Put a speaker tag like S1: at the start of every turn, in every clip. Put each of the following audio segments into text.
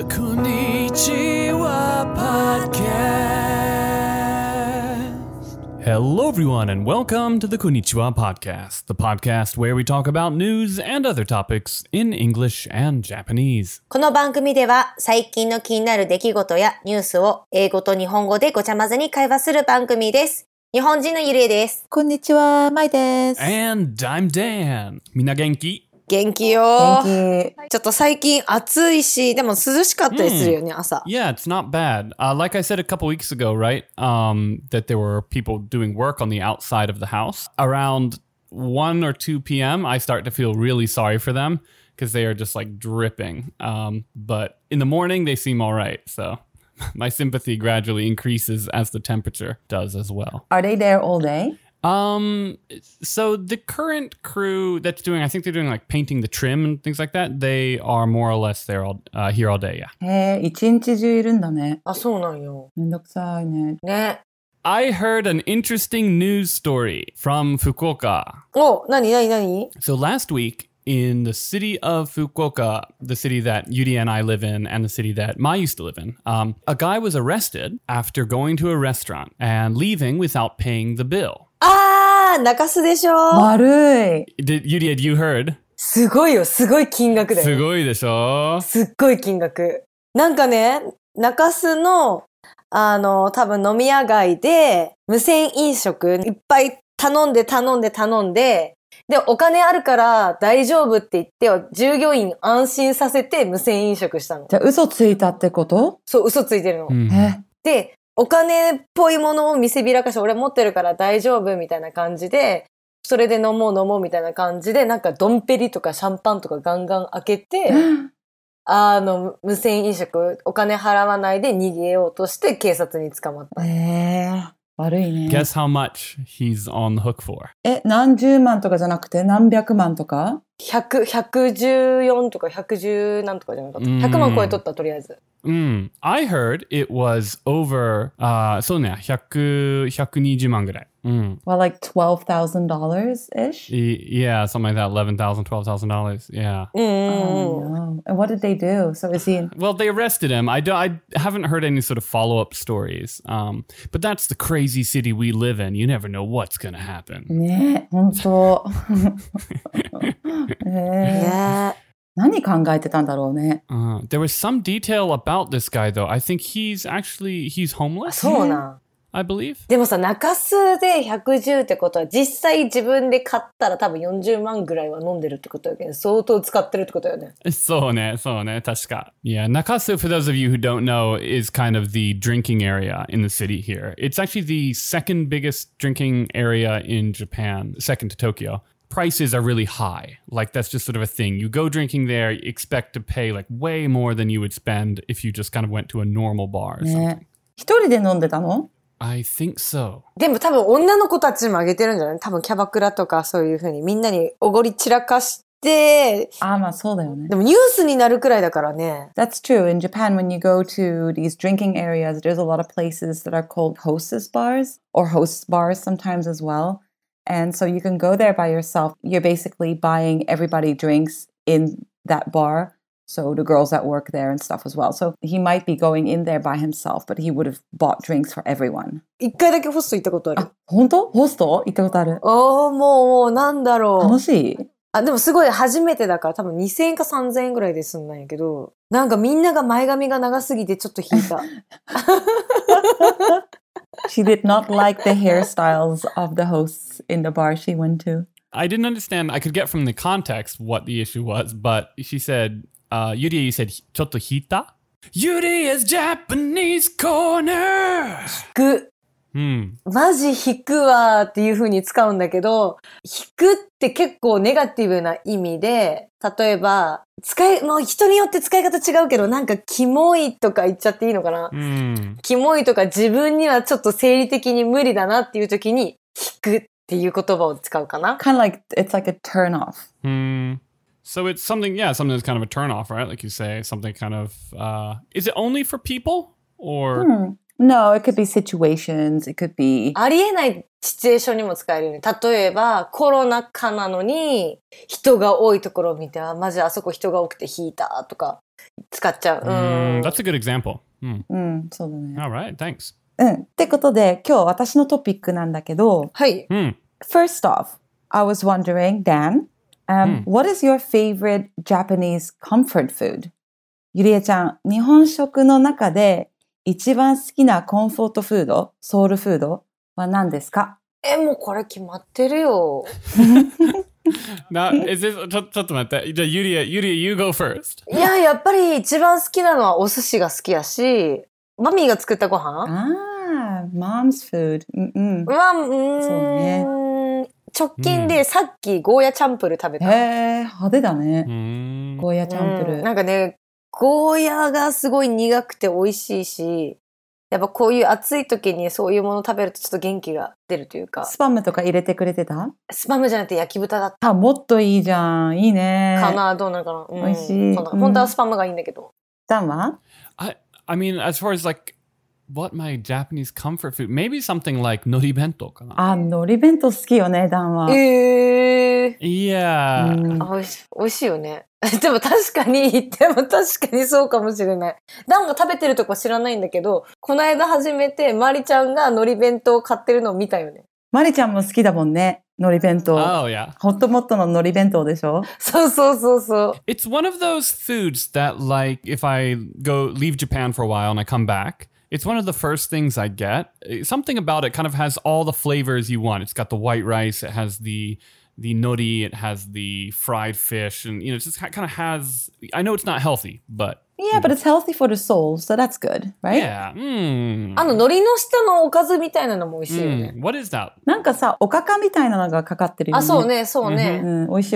S1: Konnichiwa Podcast. Hello, everyone, and welcome to the Konnichiwa Podcast, the podcast where we talk about news and other topics in English and Japanese.
S2: この番組では最近の気になる出来事やニュースを英語と日本語でごちゃ混ぜに会話する番組です。日本人のゆりえです。
S3: こんにちは、まいです。
S1: And I'm Dan. みんな元気？
S2: 元気よ。
S3: 元気。
S2: ちょっと最近暑いし、でも涼しかったりするよね、朝。
S1: Yeah, it's not bad. Like I said a couple weeks ago, right? That there were people doing work on the outside of the house. Around 1 or 2 p.m., I start to feel really sorry for them because they are just like dripping. But in the morning, they seem all right. So my sympathy gradually increases as the temperature does as well.
S3: Are they there all day?
S1: So the current crew that's doing, I think they're doing like painting the trim and things like that. They are more or less there here all day, yeah.
S3: へえ、一日中いるんだね。
S2: あ、そうなんよ。
S3: めんどくさいね。
S2: ね。
S1: I heard an interesting news story from Fukuoka.
S2: お、なに
S1: So last week in the city of Fukuoka, the city that Yuri and I live in and the city that Mai used to live in, a guy was arrested after going to a restaurant and leaving without paying the bill.
S2: あー、中洲でしょ。
S3: 悪い。
S1: Yuri, had you heard?
S2: すごいよ、すごい金額だよ。
S1: すごいでしょ？
S2: すっごい金額。なんかね、中洲の、多分飲み屋街で、無銭飲食いっぱい頼んで、で、お金あるから大丈夫って言って、従業員安心させて無銭飲食したの。
S3: じゃあ嘘ついたってこと？
S2: そう、嘘ついてるの。で、お金っぽいものを見せびらかして、俺持ってるから大丈夫みたいな感じで、それで飲もうみたいな感じで、なんかドンペリとかシャンパンとかガンガン開けて、無銭飲食、お金払わないで逃げようとして警察に捕まった。
S3: 悪いね。
S1: Guess how much he's on the hook for?
S3: 何十万とかじゃなくて何百万とか
S2: 114とか110なんとかじゃなかった。100万超えとった、とりあえず。
S1: I heard it was over, そうね、120万ぐらい。
S3: Well, like $12,000-ish?
S1: Yeah, something like that, $11,000, $12,000, yeah.
S3: Oh, no. And what did they do? So is he...
S1: Well, they arrested him. I haven't heard any sort of follow-up stories. But that's the crazy city we live in. You never know what's going to happen.
S3: ね、本当。何考えてたんだろうね。
S1: There was some detail about this guy, though. I think he's homeless.
S2: そうな。
S1: I believe.
S2: でもさ、中洲で110ってことは、実際自分で買ったら多分40万ぐらいは飲んでるってことだけど、相当使ってるってことよね。
S1: そうね、確か。Yeah, Nakasu, for those of you who don't know, is kind of the drinking area in the city here. It's actually the second biggest drinking area in Japan, second to Tokyo. Prices are really high. Like, that's just sort of a thing. You go drinking there, you expect to pay like way more than you would spend if you just kind of went to a normal bar or something.
S3: 一人で飲んでたの
S1: ？I think so.
S2: でも多分女の子たちにもあげてるんじゃない？多分キャバクラとかそういう風にみんなにおごり散らかして、
S3: まあそうだよね。
S2: でもニュースになるくらいだからね。
S3: That's true. In Japan, when you go to these drinking areas, there's a lot of places that are called hostess bars or host bars sometimes as well. And so you can go there by yourself. You're basically buying everybody drinks in that bar.So the girls that work there and stuff as well. So he might be going in there by himself, but he would have bought drinks for everyone.
S2: 一回だけホスト行ったことある。
S3: 本当？ホスト行ったことある。
S2: もうなんだろう。
S3: 楽しい？
S2: でもすごい初めてだから多分2000円か3000円ぐらいで済んだんやけど、なんかみんなが前髪が長すぎてちょっと引いた。
S3: She did not like the hairstyles of the hosts in the bar she went to.
S1: I didn't understand. I could get from the context what the issue was, but she said,Yuri, you said, ちょっと引いた? Yuri's Japanese Corner!
S2: 引く。マジ引くわっていう風に使うんだけど、引くって結構ネガティブな意味で、例えば、もう人によって使い方違うけど、なんかキモいとか言っちゃっていいのかな？キモいとか自分にはちょっと生理的に無理だなっていう時に、引くっていう言葉を使うかな。
S3: Kind of like, it's like a turn
S1: off.So it's something that's kind of a turn-off, right? Like you say, something kind of... is it only for people?
S3: Or...No, it could be situations. It could be...
S2: ありえないシチュエーションにも使えるよね。例えば、コロナ禍なのに、人が多いところを見て、マジあそこ人が多くて引いたとか。 使っちゃう。
S1: That's a good example.
S3: そうだね。
S1: Alright, thanks.
S3: ってことで、今日私のトピックなんだけど、
S2: はい。
S3: First off, I was wondering, Dan, what is your favorite Japanese comfort food? ゆりえちゃん、日本食の中で一番好きなコンフォートフード、ソウルフードは何ですか？
S2: もうこれ決まってるよ。
S1: Now, is this ちょっと待って。じゃあ、ゆりえ、you go first.
S2: いや、やっぱり一番好きなのはお寿司が好きやし、マミーが作ったご飯
S3: mom's food. そうね。
S2: 直近でさっきゴーヤチャンプル食べた。
S3: 派手だね。ゴーヤチャンプル。
S2: なんかね、ゴーヤがすごい苦くて美味しいし、やっぱこういう暑い時にそういうもの食べるとちょっと元気が出るというか。
S3: スパムとか入れてくれてた？
S2: スパムじゃなくて焼き豚だった。
S3: もっといいじゃん。いいね。
S2: かな、どうなのかな。
S3: 美味しい。
S2: 本当はスパムがいいんだけど。
S3: ダンは？
S1: I mean, as far as like what my Japanese comfort food, maybe something like nori bento かな。
S3: 海苔弁当好きよね、ダンは。
S1: Yeah.
S2: 美味しいよね。でも確かにそうかもしれない。ダンが食べてるとこ知らないんだけど、この間初めてマリちゃんが海苔弁当を買ってるのを見たよね。
S3: マリちゃんも好きだもんね、海苔弁当。
S1: Oh, yeah.
S3: ホットモットの海苔弁当でしょ？
S2: そう。
S1: It's one of those foods that like if I leave Japan for a while and I come back, it's one of the first things I get. Something about it kind of has all the flavors you want. It's got the white rice, it has the nori, it has the fried fish, and it just kind of has. I know it's not healthy, but
S3: yeah, but it's healthy for the soul, so that's good, right?
S1: Yeah.
S2: 海苔の下のおかずみたいなのも美味しいよね。
S1: What is that?
S3: なんかさ、おかかみたいなのがかかってるよね。
S2: そうね。
S3: 美味しい。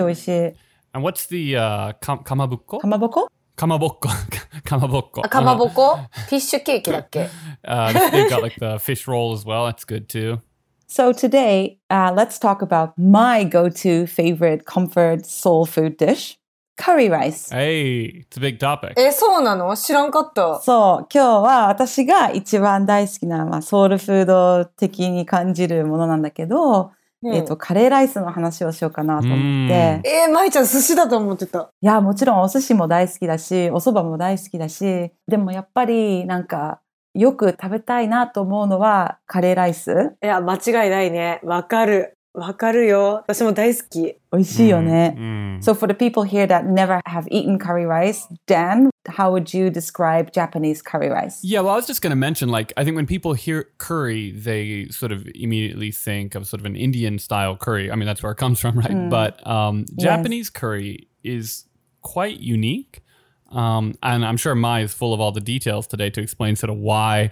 S1: And what's the kamabukko?
S3: かまぼこ？
S1: かまぼっこ。
S2: かまぼこ？フィッシュケーキだっけ？
S1: They've got like the fish roll as well. That's good too.
S3: So today, let's talk about my go-to favorite comfort soul food dish, curry rice.
S1: Hey, it's a big topic.
S2: そうなの？知らんかった。
S3: そう、今日は私が一番大好きな、ソウルフード的に感じるものなんだけど、カレーライスの話をしようかなと思って。
S2: まいちゃん寿司だと思ってた。
S3: いや、もちろんお寿司も大好きだし、お蕎麦も大好きだし、でもやっぱりなんか、よく食べたいなと思うのはカレーライス。
S2: いや、間違いないね。わかるよ。私も大好き。
S3: 美味しいよね。So for the people here that never have eaten curry rice, Dan, how would you describe Japanese curry rice?
S1: Yeah, well, I was just going to mention, like, I think when people hear curry, they sort of immediately think of sort of an Indian style curry. I mean, that's where it comes from, right? But Japanese curry is quite unique. And I'm sure Mai is full of all the details today to explain sort of why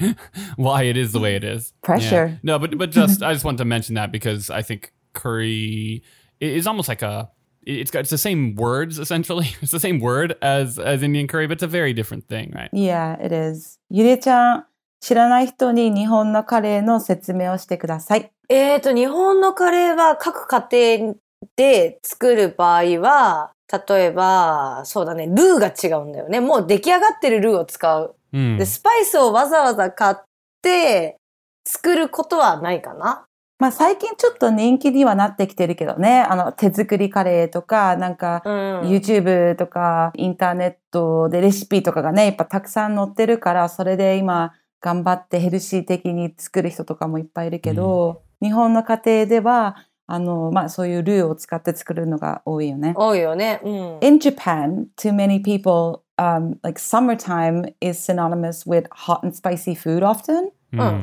S1: it is the way it is.
S3: Pressure.
S1: Yeah. No, but I just wanted to mention that because I think curry is almost like it's the same words essentially. It's the same word as Indian curry, but it's a very different thing, right?
S3: Yeah, it is. ゆりえちゃん、知らない人に日本のカレーの説明をしてください。
S2: 日本のカレーは各家庭で作る場合は、例えば、そうだね、ルーが違うんだよね。もう出来上がってるルーを使う。で、スパイスをわざわざ買って作ることはないかな。
S3: まあ最近ちょっと人気にはなってきてるけどね。手作りカレーとか、なんか、YouTube とかインターネットでレシピとかがね、やっぱたくさん載ってるから、それで今頑張ってヘルシー的に作る人とかもいっぱいいるけど、日本の家庭では、まあそういうルーを使って作るのが多いよね。
S2: 多いよね。
S3: In Japan, to many people, like summertime is synonymous with hot and spicy food often.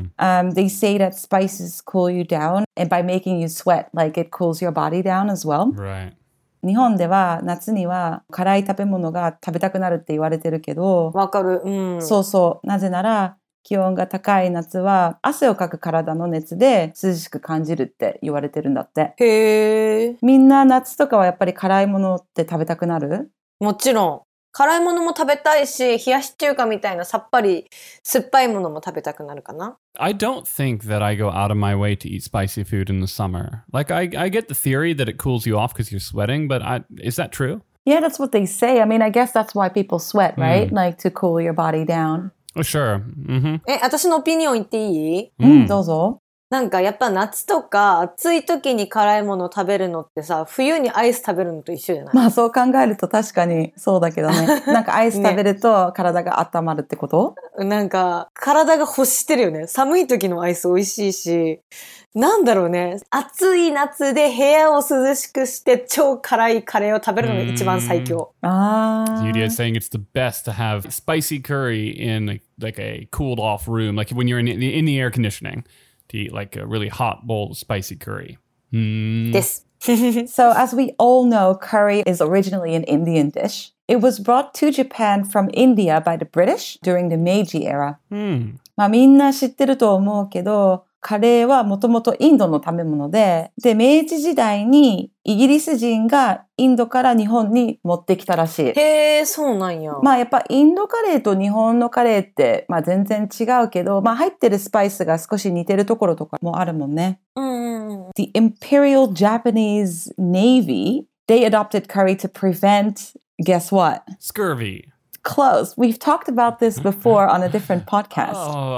S3: They say that spices cool you down and by making you sweat, like it cools your body down as well.
S1: Right.
S3: 日本では夏には辛い食べ物が食べたくなるって言われてるけど、
S2: わかる。
S3: そうそう。なぜなら気温が高い夏は汗をかく体の熱で涼しく感じるって言われてるんだって。
S2: へー。
S3: みんな夏とかはやっぱり辛いものって食べたくなる？
S2: もちろん。辛いものも食べたいし、冷やし中華みたいなさっぱり酸っぱいものも食べたくなるかな。
S1: I don't think that I go out of my way to eat spicy food in the summer. Like I get the theory that it cools you off because you're sweating, but is that true?
S3: Yeah, that's what they say. I mean, I guess that's why people sweat, right? Like to cool your body down.
S1: Oh, sure.
S2: 私のオピニオン言っていい？
S3: どうぞ。
S2: なんかやっぱ夏とか暑い時に辛いものを食べるのってさ、冬にアイス食べるのと一緒じゃない？
S3: まあそう考えると確かにそうだけどね。なんかアイス食べると体が温まるってこと？
S2: なんか体が欲してるよね。寒い時のアイス美味しいし、なんだろうね。暑い夏で部屋を涼しくして超辛いカレーを食べるのが一番最強。
S1: Yuria is saying it's the best to have spicy curry in like a cooled off room, like when you're in the air conditioning, to eat like a really hot bowl of spicy curry.
S2: です。
S3: So as we all know, curry is originally an Indian dish. It was brought to Japan from India by the British during the Meiji era. まあみんな知ってると思うけど、カレーはもともとインドの食べ物で、明治時代にイギリス人がインドから日本に持ってきたらしい。
S2: へー、そうなんや。
S3: まあやっぱインドカレーと日本のカレーって、まあ全然違うけど、まあ入ってるスパイスが少し似てるところとかもあるもんね。The Imperial Japanese Navy, they adopted curry to prevent, guess what?
S1: Scurvy.
S3: Close. We've talked about this before on a different podcast.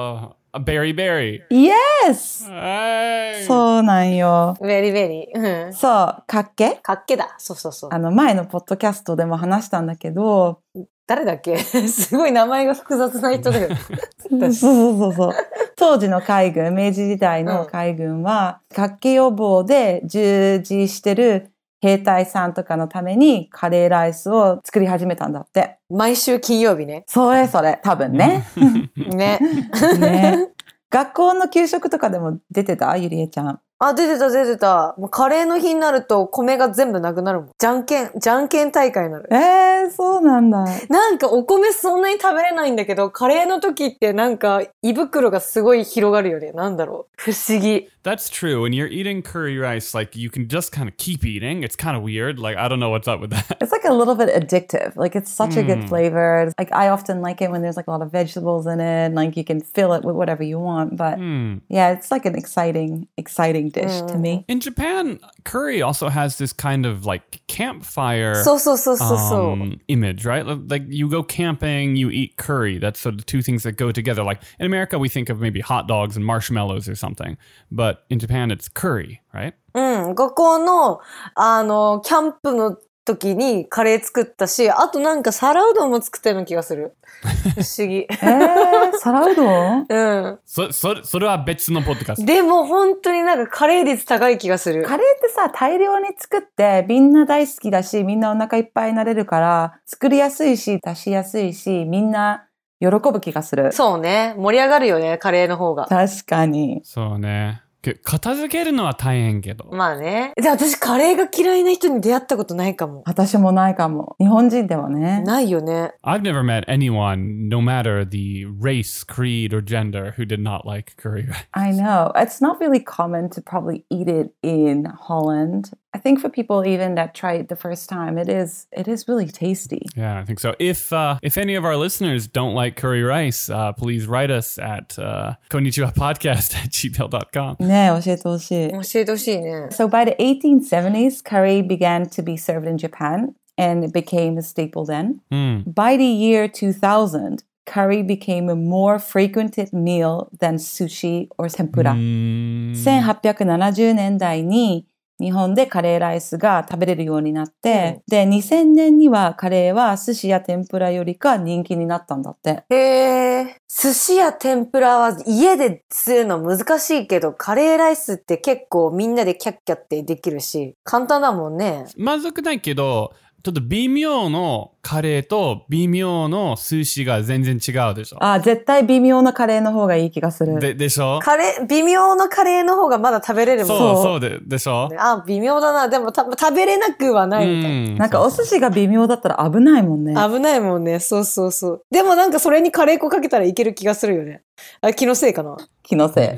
S1: A berry.
S3: Yes!
S1: Hey.
S3: そうなんよ。
S2: ベリベリ。
S3: そう、かっけ？
S2: かっけだ。そうそうそう。
S3: 前のポッドキャストでも話したんだけど、
S2: 誰だっけ？すごい名前が複雑な人だよ。
S3: そう。当時の海軍、明治時代の海軍は、かっけ予防で従事してる兵隊さんとかのためにカレーライスを作り始めたんだって。
S2: 毎週金曜日ね。
S3: それ、多分ね。
S2: ね。
S3: 学校の給食とかでも出てた？ゆりえちゃん。
S2: あ、出てた。もうカレーの日になると米が全部なくなるもん。じゃんけん大会になる。
S3: そうなんだ。
S2: なんかお米そんなに食べれないんだけど、カレーの時ってなんか胃袋がすごい広がるよね。なんだろう。不思議。
S1: That's true. When you're eating curry rice, like you can just kind of keep eating. It's kind of weird. Like, I don't know what's up with that.
S3: It's like a little bit addictive. Like it's such a good flavor. Like I often like it when there's like a lot of vegetables in it. Like you can fill it with whatever you want. But yeah, it's like an exciting dish to me.
S1: In Japan, curry also has this kind of like campfire image, right? Like you go camping, you eat curry. That's sort of the two things that go together. Like in America, we think of maybe hot dogs and marshmallows or something. But in Japan, it's curry, right?
S2: 学校の、キャンプの時にカレー作ったし、あとなんか皿うどんも作ったような気がする。不思議。
S3: 皿うどん？
S1: それは別のポッドキャスト。
S2: でも本当になんかカレー率高い気がする。
S3: カレーってさ、大量に作ってみんな大好きだし、みんなお腹いっぱいになれるから、作りやすいし、出しやすいし、みんな喜ぶ気がする。
S2: そうね。盛り上がるよね、カレーの方が。
S3: 確かに。
S1: そうね。片付けるのは大変けど。
S2: まあね。で、私カレーが嫌いな人に出会ったことないかも。
S3: 私もないかも。日本人ではね。
S2: ないよね。
S1: I've never met anyone, no matter the race, creed, or gender, who did not like curry rice.
S3: I know. It's not really common to probably eat it in Holland. I think for people even that try it the first time, it is really tasty.
S1: Yeah, I think so. If any of our listeners don't like curry rice, please write us at konnichiwapodcast@gmail.com.
S3: ね、教えてほしい。
S2: 教えてほしいね。
S3: So by the 1870s, curry began to be served in Japan, and it became a staple then. By the year 2000, curry became a more frequented meal than sushi or tempura. 1870年代に日本でカレーライスが食べれるようになって、で、2000年にはカレーは寿司や天ぷらよりか人気になったんだって。
S2: へー。寿司や天ぷらは家でするの難しいけど、カレーライスって結構みんなでキャッキャってできるし、簡単だもんね。
S1: まずくないけど、ちょっと微妙のカレーと微妙の寿司が全然違うでしょ。
S3: 絶対微妙なカレーの方がいい気がする。
S1: でしょ？
S2: 微妙のカレーの方がまだ食べれるもん。
S1: そうでしょ？
S2: 微妙だな。でも食べれなくはないみたいな。
S3: なんかお寿司が微妙だったら危ないもんね。
S2: 危ないもんね。そう。でもなんかそれにカレー粉かけたらいける気がするよね。気のせいかな。
S3: 気のせい。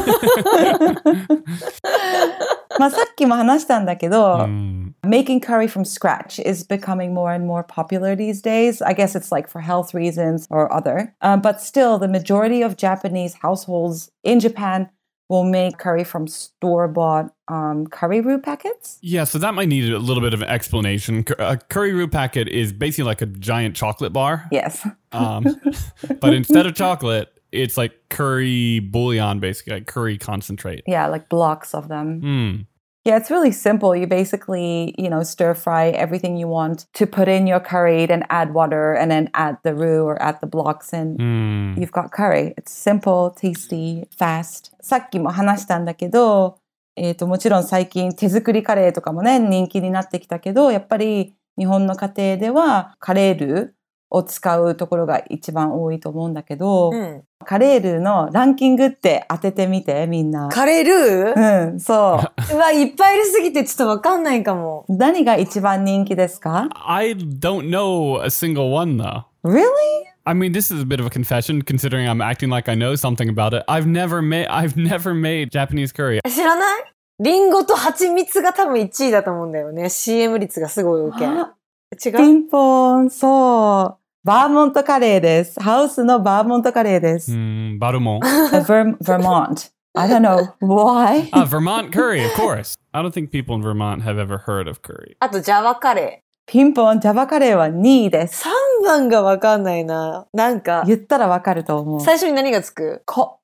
S3: まあさっきも話したんだけど、making curry from scratch is becoming more and more popular these days. I guess it's like for health reasons or other. But still, the majority of Japanese households in Japan will make curry from store-bought curry roux packets.
S1: Yeah, so that might need a little bit of an explanation. A curry roux packet is basically like a giant chocolate bar.
S3: Yes.
S1: But instead of chocolate, it's like curry bouillon, basically, like curry concentrate.
S3: Yeah, like blocks of them.
S1: Mm.
S3: Yeah, it's really simple. You basically, stir fry everything you want to put in your curry, then add water, and then add the roux or add the blocks, and you've got curry. It's simple, tasty, fast. さっきも話したんだけど、もちろん最近手作りカレーとかもね、人気になってきたけど、やっぱり日本の家庭ではカレールーを使うところが一番多いと思うんだけど、カレールーのランキングって当ててみて、みんな。
S2: カレールー？
S3: そう。
S2: うわ、いっぱいいるすぎてちょっとわかんないかも。
S3: 何が一番人気ですか？
S1: I don't know a single one though.
S3: Really?
S1: I mean, this is a bit of a confession considering I'm acting like I know something about it. I've never made Japanese curry.
S2: 知らない？リンゴと蜂蜜が多分1位だと思うんだよね。CM 率がすごい多け。違う？
S3: ピンポン、そう。バーモントカレーです。ハウスのバーモントカレーです。
S1: バルモン。
S3: Vermont. I don't know why.
S1: Vermont curry, of course. I don't think people in Vermont have ever heard of curry.
S2: あと、ジャワカレー。
S3: ピンポン、ジャワカレーは2位です。
S2: 3番がわかんないな。なんか。
S3: 言ったらわかると思う。
S2: 最初に何がつく？コ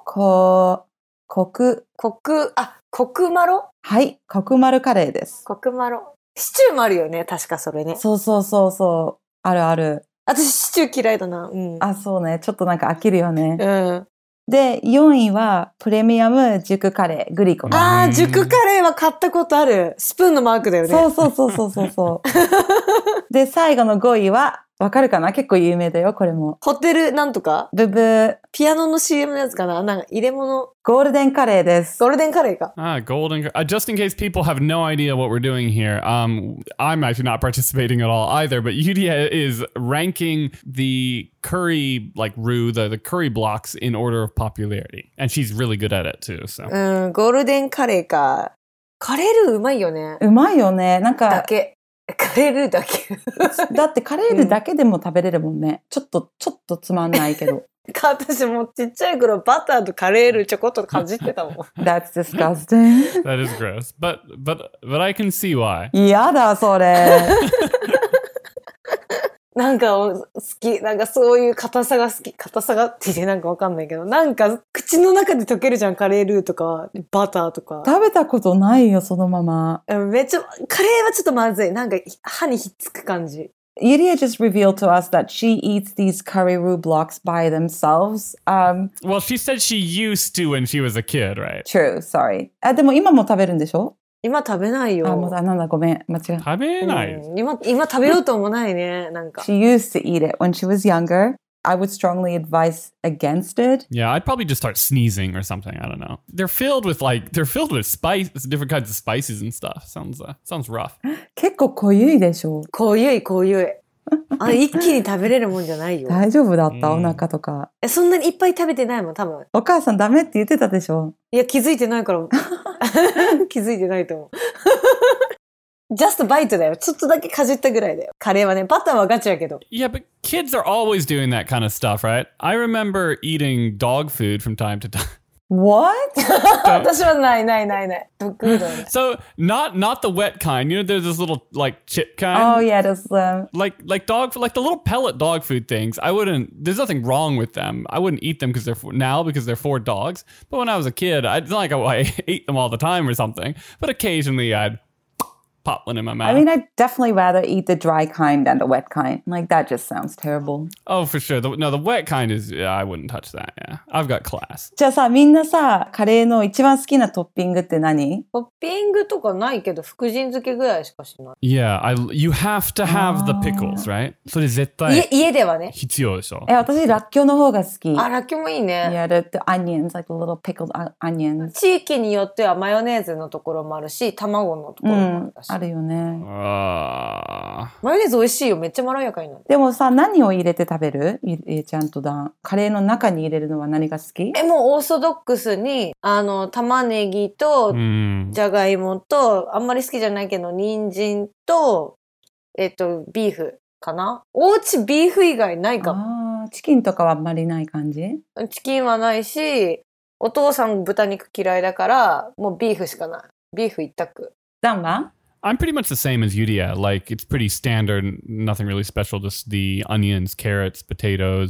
S2: クマロ？はい、
S3: コクマルカレーです。
S2: コクマロ。シチューもあるよね、確かそれね。
S3: そう。あるある。
S2: 私シチュー嫌いだな。
S3: あ、そうね。ちょっとなんか飽きるよね。
S2: うん。
S3: で、4位はプレミアム熟カレー、グリコの。
S2: ああ、熟カレーは買ったことある。スプーンのマークだよね。
S3: そう。で、最後の5位は、わかるかな？結構有名だよ、これも。
S2: ホテルなんとか？
S3: ブブー。
S2: ピアノの CM のやつかな？なんか入れ物。
S3: ゴールデンカレーです。
S2: ゴールデンカレーか。
S1: Golden. Just in case people have no idea what we're doing here, I'm actually not participating at all either, but Yudia is ranking the curry, like roux, the curry blocks in order of popularity. And she's really good at it too, so.
S2: ゴールデンカレーか。カレールーうまいよね。
S3: うまいよね。なんか。
S2: だけ。カレールーだけ。
S3: だってカレールーだけでも食べれるもんね。ちょっとつまんないけど。
S2: 私もちっちゃい頃バターとカレールーちょこっとかじってたもん。
S3: That's disgusting.
S1: That is gross. But I can see why.
S3: やだ、それ。
S2: なんか好き。なんかそういう硬さが好き。硬さがって言ってなんかわかんないけど、なんか口の中で溶けるじゃん、カレールーとか、バターとか。
S3: 食べたことないよ、そのまま。
S2: めっちゃ、カレーはちょっとまずい。なんか歯にひっつく感じ。
S3: Yuria just revealed to us that she eats these curry roux blocks by themselves.
S1: Well, she said she used to when she was a kid, right?
S3: True, sorry. でも今も食べるんでしょ？
S2: 今食べないよ。
S3: なんだ、ごめん。間違えた。
S1: 食べない。
S2: 今食べようともないね。なんか。
S3: She used to eat it when she was younger. I would strongly advise against it.
S1: Yeah, I'd probably just start sneezing or something. I don't know. They're filled with spice, different kinds of spices and stuff. Sounds rough.
S3: 結構濃ゆいでしょ？
S2: 濃ゆい。一気に食べれるもんじゃないよ。
S3: 大丈夫だった？お腹とか。
S2: そんなにいっぱい食べてないもん、多分。
S3: お母さんダメって言ってたでしょ？
S2: いや、気づいてないから。気づいてないと思う。just bite だよ。ちょっとだけかじったぐらいだよ。カレーはね、バターはガチやけど。
S1: Yeah, but kids are always doing that kind of stuff, right? I remember eating dog food from time to time.
S3: What?
S2: 私はない。ドッグフードね。
S1: So not the wet kind. You know, there's this little like chip kind.
S3: Oh yeah, there's
S1: like dog food, like the little pellet dog food things. There's nothing wrong with them. I wouldn't eat them because they're for dogs. But when I was a kid, it's not like I ate them all the time or something. But occasionally I'd pop one in my mouth.
S3: I mean, I'd definitely rather eat the dry kind than the wet kind. Like, that just sounds terrible.
S1: Oh, for sure. The wet kind is, I wouldn't touch that, yeah. I've got class.
S3: じゃあさ、みんなさ、カレーの一番好きなトッピングって何？
S2: トッピングとかないけど、福神漬けぐらいしかしない。
S1: Yeah, you have to have the pickles, right? それ絶対
S2: 家ではね。
S1: 必要でしょ。
S3: 私、らっきょうの方が好き。
S2: らっきょうもいいね。
S3: Yeah, the onions, like the little pickled onions.
S2: 地域によってはマヨネーズのところもあるし、卵のところもあるし。
S3: あるよね。
S1: マ
S2: ヨネーズ美味しいよ。めっちゃまろやかになる。
S3: でもさ、何を入れて食べる？ちゃんとカレーの中に入れるのは何が好き？
S2: もうオーソドックスに、玉ねぎと、じゃがいもと、あんまり好きじゃないけど、人参と、ビーフかな？おうちビーフ以外ないかも。
S3: チキンとかはあんまりない感じ？
S2: チキンはないし、お父さん豚肉嫌いだから、もうビーフしかない。ビーフ一択。
S3: ダンは
S1: ？I'm pretty much the same as Yudia. Like, it's pretty standard, nothing really special, just the onions, carrots, potatoes,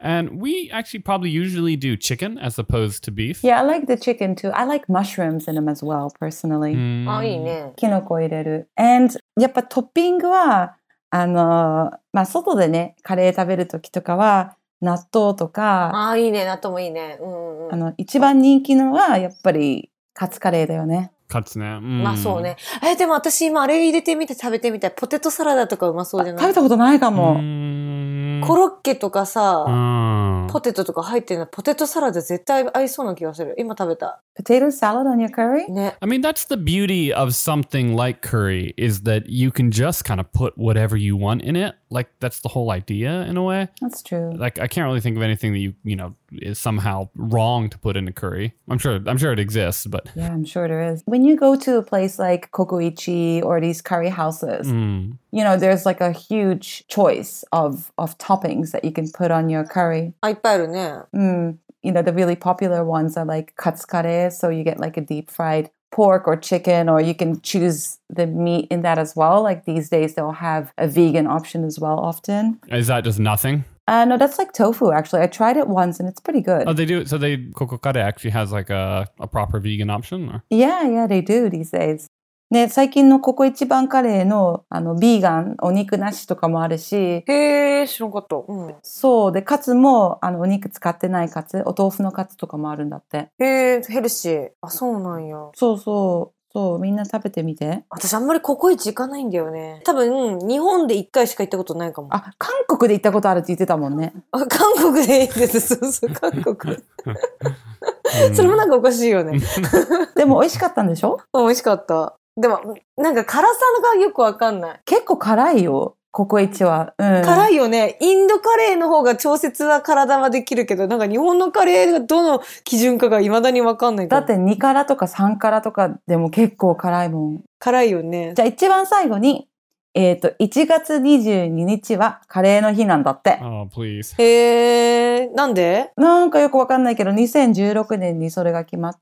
S1: And we actually probably usually do chicken as opposed to beef.
S3: Yeah, I like the chicken too. I like mushrooms in them as well, personally.
S2: あ、いいね。
S3: キノコ入れる。And やっぱトッピングは、外でね、カレー食べるときとかは、納豆とか、
S2: あ、いいね。納豆もいいね。
S3: 一番人気のは、やっぱりカツカレーだよね。
S1: カツね。
S2: まあそうね。でも私今あれ入れてみて食べてみたい。ポテトサラダとかうまそうじゃない？
S3: 食べたことないかも。
S2: コロッケとかさ、ポテトとか入ってるのポテトサラダ絶対合いそうな気がする。今食べた。
S3: Potato salad on your curry?
S2: ね。
S1: I mean, that's the beauty of something like curry is that you can just kind of put whatever you want in it. Like that's the whole idea in a way.
S3: That's true.
S1: Like I can't really think of anything that you know is somehow wrong to put in a curry. I'm sure it exists, but
S3: yeah, I'm sure there is. When you go to a place like Kokoichi or these curry houses, you know, there's like a huge choice of toppings that you can put on your curry.
S2: あ、いっぱいあるね。
S3: You know, the really popular ones are like katsu kare, so you get like a deep fried pork or chicken, or you can choose the meat in that as well. Like these days, they'll have a vegan option as well often.
S1: Is that just nothing?
S3: No, that's like tofu, actually. I tried it once and it's pretty good.
S1: Oh, they do. So Kokokare actually has like a proper vegan option? Or?
S3: Yeah, they do these days. ね、最近のココイチバンカレーのビーガン、お肉なしとかもあるし。
S2: へー、知らんかった。
S3: そう。で、カツもお肉使ってないカツ、お豆腐のカツとかもあるんだって。
S2: へー、ヘルシー。あ、そうなんや。
S3: そう、みんな食べてみて。
S2: 私あんまりココイチ行かないんだよね。多分、日本で1回しか行ったことないかも。
S3: あ、韓国で行ったことあるって言ってたもんね。
S2: あ、韓国でいいです。そう、韓国。それもなんかおかしいよね。
S3: でも美味しかったんでしょ？
S2: 美味しかった。でも、なんか辛さがよくわかんない。
S3: 結構辛いよ。ココイチは。
S2: 辛いよね。インドカレーの方が調節は体はできるけど、なんか日本のカレーがどの基準かが未だにわかんないから。
S3: だって2辛とか3辛とかでも結構辛いもん。
S2: 辛いよね。
S3: じゃあ一番最後に、1月22日はカレーの日なんだって。
S1: Oh, please.
S2: へー、なんで？
S3: なんかよくわかんないけど、2016年にそれが決まって。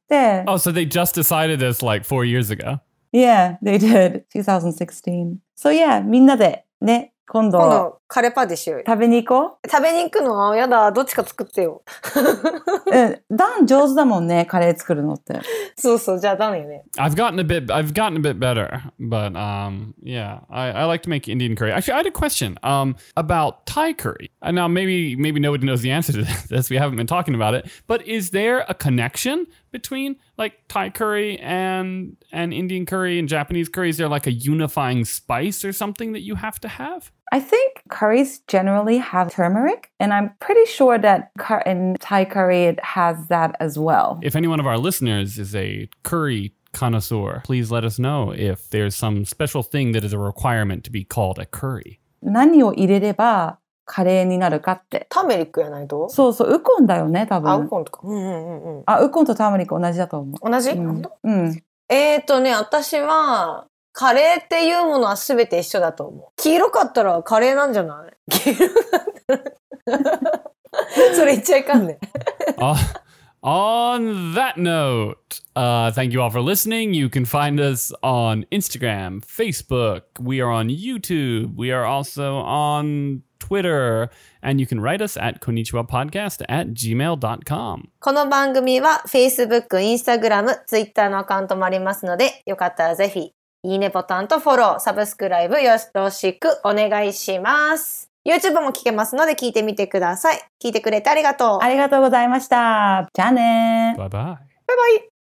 S1: Oh, so they just decided this like 4 years ago?
S3: Yeah, they did. 2016. So yeah, みんなでね、今度
S2: カレーパーティーしようよ。
S3: 食べに行こう。
S2: 食べに行くの？やだ、どっちか作ってよ。
S3: ダン上手だもんね、カレー作るのって。
S2: そうそう、じゃあダンよね。
S1: I've gotten a bit better, but yeah, I like to make Indian curry. Actually, I had a question about Thai curry. And now maybe nobody knows the answer to this. We haven't been talking about it. But is there a connection between like Thai curry and Indian curry and Japanese curry? Is there like a unifying spice or something that you have to have?
S3: I think curries generally have turmeric, and I'm pretty sure that in Thai curry it has that as well.
S1: If any one of our listeners is a curry connoisseur, please let us know if there's some special thing that is a requirement to be called a curry.
S3: 何を入れればカレーになるかって。
S2: ターメリックやないと？
S3: そう、ウコンだよね、多分。
S2: あ、ウコンとか。
S3: ウコンとターメリック同じだと思う。
S2: 同じ？私は、カレーっていうものは全て一緒だと思う。黄色かったらカレーなんじゃない？黄色かったら。それ言っちゃいかんね。
S1: On that note, thank you all for listening. You can find us on Instagram, Facebook. We are on YouTube. We are also on Twitter. And you can write us at konnichiwapodcast@gmail.com.
S2: この番組は Facebook、Instagram、Twitter のアカウントもありますので、よかったらぜひ、いいねボタンとフォロー、サブスクライブよろしくお願いします。YouTube も聞けますので聞いてみてください。聞いてくれてありがとう。
S3: ありがとうございました。じゃあね。
S1: バイバイ。
S2: バイバイ。